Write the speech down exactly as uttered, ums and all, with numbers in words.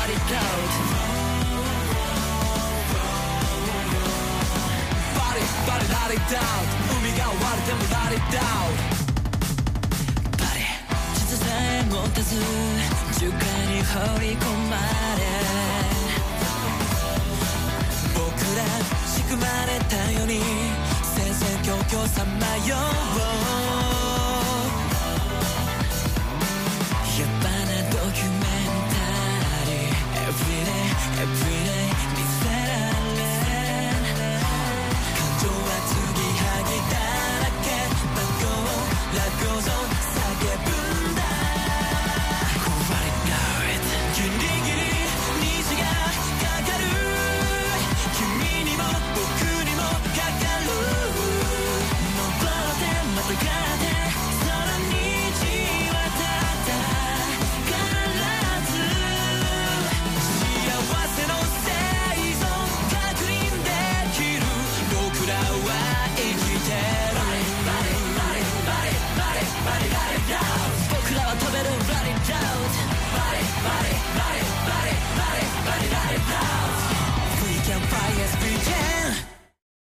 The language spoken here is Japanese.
it out Body, body, let it out 海が割れても let it out Body 地図さえ持たず樹海に放り込まれ僕ら仕組まれたように戦々恐々さまようやっぱなドキュメンタリー Everyday, everyday 見せられ感情は継ぎはぎだらけバッゴーラゴゾン叫ぶんだ Alright now it ギリギリ虹がかかる君にも僕にもかかる登ってまたがって空に血はたったからず幸せの生存確認できる僕らは